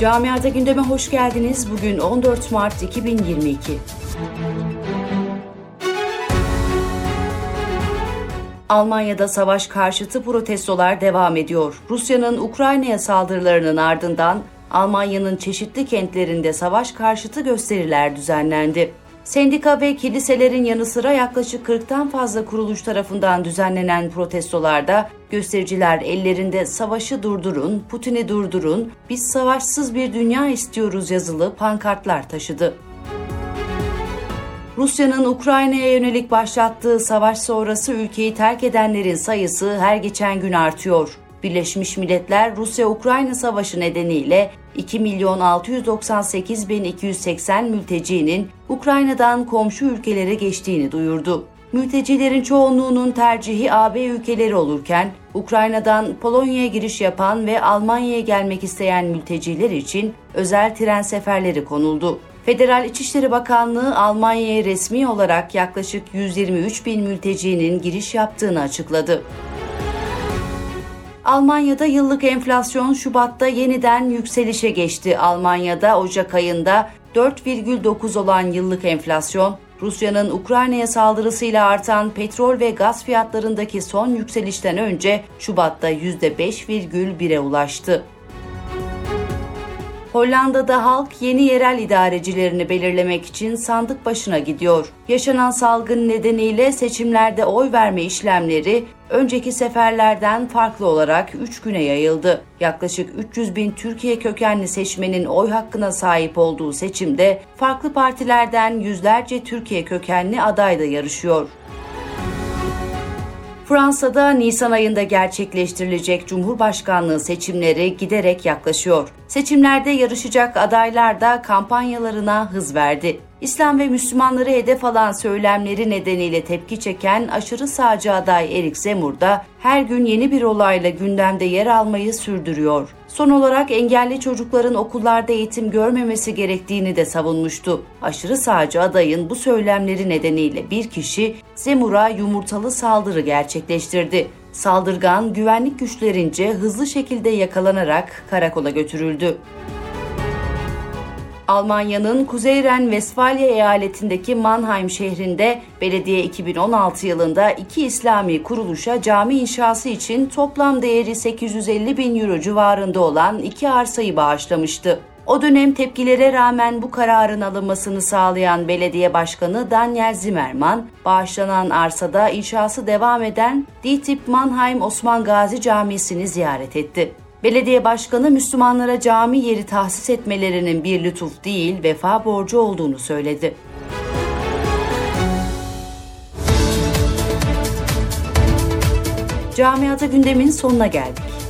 Camiada gündeme hoş geldiniz. Bugün 14 Mart 2022. Almanya'da savaş karşıtı protestolar devam ediyor. Rusya'nın Ukrayna'ya saldırılarının ardından Almanya'nın çeşitli kentlerinde savaş karşıtı gösteriler düzenlendi. Sendika ve kiliselerin yanı sıra yaklaşık 40'tan fazla kuruluş tarafından düzenlenen protestolarda göstericiler ellerinde "Savaşı durdurun, Putin'i durdurun, biz savaşsız bir dünya istiyoruz" yazılı pankartlar taşıdı. Rusya'nın Ukrayna'ya yönelik başlattığı savaş sonrası ülkeyi terk edenlerin sayısı her geçen gün artıyor. Birleşmiş Milletler, Rusya-Ukrayna savaşı nedeniyle 2.698.280 mültecinin Ukrayna'dan komşu ülkelere geçtiğini duyurdu. Mültecilerin çoğunluğunun tercihi AB ülkeleri olurken, Ukrayna'dan Polonya'ya giriş yapan ve Almanya'ya gelmek isteyen mülteciler için özel tren seferleri konuldu. Federal İçişleri Bakanlığı, Almanya'ya resmi olarak yaklaşık 123.000 mültecinin giriş yaptığını açıkladı. Almanya'da yıllık enflasyon Şubat'ta yeniden yükselişe geçti. Almanya'da Ocak ayında 4,9 olan yıllık enflasyon, Rusya'nın Ukrayna'ya saldırısıyla artan petrol ve gaz fiyatlarındaki son yükselişten önce Şubat'ta %5,1'e ulaştı. Hollanda'da halk yeni yerel idarecilerini belirlemek için sandık başına gidiyor. Yaşanan salgın nedeniyle seçimlerde oy verme işlemleri önceki seferlerden farklı olarak 3 güne yayıldı. Yaklaşık 300.000 Türkiye kökenli seçmenin oy hakkına sahip olduğu seçimde farklı partilerden yüzlerce Türkiye kökenli aday da yarışıyor. Fransa'da Nisan ayında gerçekleştirilecek Cumhurbaşkanlığı seçimleri giderek yaklaşıyor. Seçimlerde yarışacak adaylar da kampanyalarına hız verdi. İslam ve Müslümanları hedef alan söylemleri nedeniyle tepki çeken aşırı sağcı aday Eric Zemmour da her gün yeni bir olayla gündemde yer almayı sürdürüyor. Son olarak engelli çocukların okullarda eğitim görmemesi gerektiğini de savunmuştu. Aşırı sağcı adayın bu söylemleri nedeniyle bir kişi Zemmour'a yumurtalı saldırı gerçekleştirdi. Saldırgan güvenlik güçlerince hızlı şekilde yakalanarak karakola götürüldü. Almanya'nın Kuzey Ren-Vesfalya eyaletindeki Mannheim şehrinde belediye 2016 yılında 2 İslami kuruluşa cami inşası için toplam değeri 850.000 euro civarında olan 2 arsayı bağışlamıştı. O dönem tepkilere rağmen bu kararın alınmasını sağlayan belediye başkanı Daniel Zimmermann, bağışlanan arsada inşası devam eden DİTİB Mannheim Osman Gazi Camisi'ni ziyaret etti. Belediye başkanı Müslümanlara cami yeri tahsis etmelerinin bir lütuf değil, vefa borcu olduğunu söyledi. Camiada gündemin sonuna geldik.